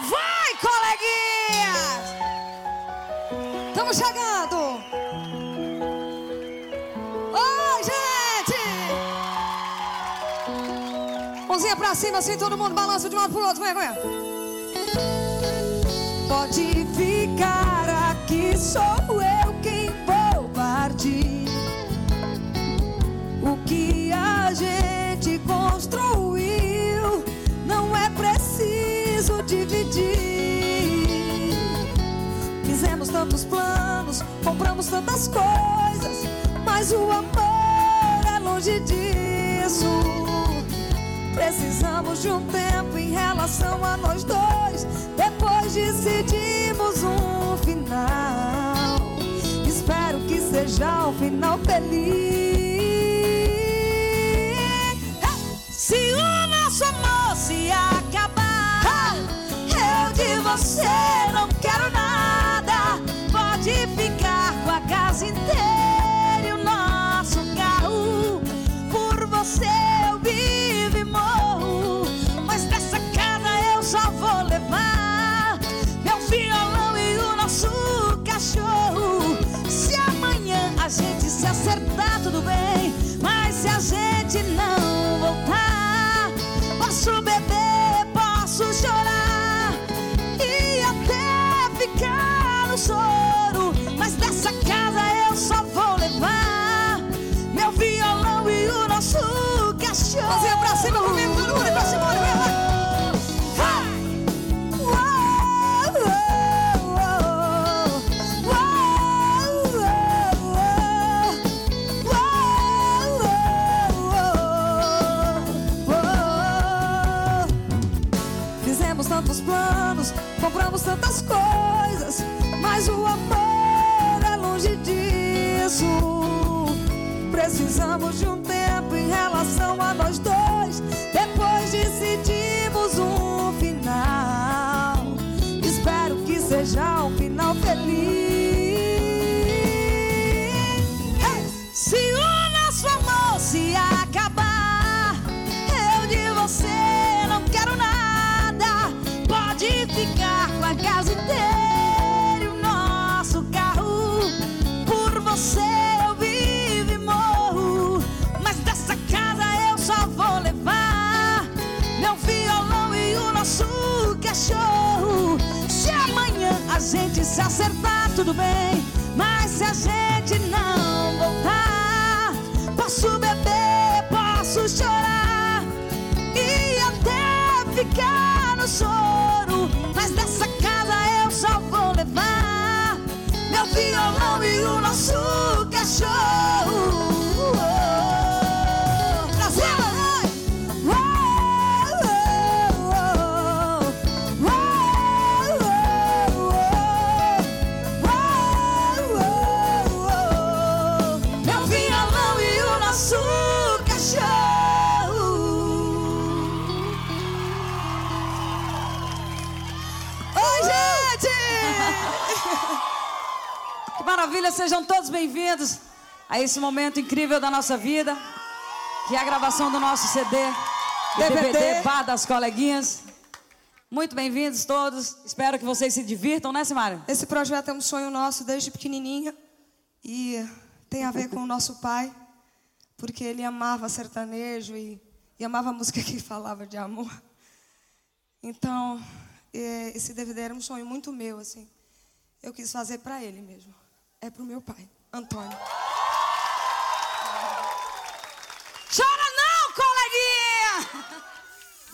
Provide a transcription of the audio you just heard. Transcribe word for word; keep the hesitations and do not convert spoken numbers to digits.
Vai, coleguinhas! Estamos chegando! Oi, gente! Mãozinha pra cima, assim, todo mundo balança de um lado pro outro. Vem, vem. Pode ficar aqui, sou eu quem vou partir. O que a gente construiu não é preciso dividir. Fizemos tantos planos, compramos tantas coisas, mas o amor é longe disso. Precisamos de um tempo em relação a nós dois. Depois decidimos um final. Espero que seja um final feliz. Se o nosso amor se acabar, eu de você não quero nada. Pode ficar com a casa inteira e o nosso carro. Por você eu vivo e morro, mas dessa casa eu só vou levar meu violão e o nosso cachorro. Se amanhã a gente se acertar, tudo bem, mas se a gente não voltar, posso beber, posso chorar e até ficar no choro, mas dessa casa eu só vou levar meu violão e o nosso cachorro. Mãozinha pra cima comigo, todo mundo pra cima, vai, vai. Tantos planos, compramos tantas coisas, mas o amor é longe disso. Precisamos de um tempo em relação a nós dois. Depois decidimos um final. Espero que seja um final feliz. Se o nosso amor se acabar, eu de você não quero nada. Pode ficar com a casa inteira e o nosso carro. Por você eu vivo e morro, mas dessa casa eu só vou levar meu violão e o nosso cachorro. Se amanhã a gente se acertar, tudo bem, mas se a gente não voltar, posso beber, posso chorar e até ficar no choro, mas dessa casa eu só vou levar meu violão e o nosso cachorro. Brasil! Meu violão e o nosso cachorro. Oi, gente! Que maravilha, sejam todos bem-vindos a esse momento incrível da nossa vida, que é a gravação do nosso C D, D V D Bar das Coleguinhas. Muito bem-vindos todos, espero que vocês se divirtam, né, Simária? Esse projeto é um sonho nosso desde pequenininha e tem a ver com o nosso pai, porque ele amava sertanejo e, e amava a música que falava de amor. Então, esse D V D era um sonho muito meu, assim. Eu quis fazer pra ele mesmo. É pro meu pai, Antônio. Chora!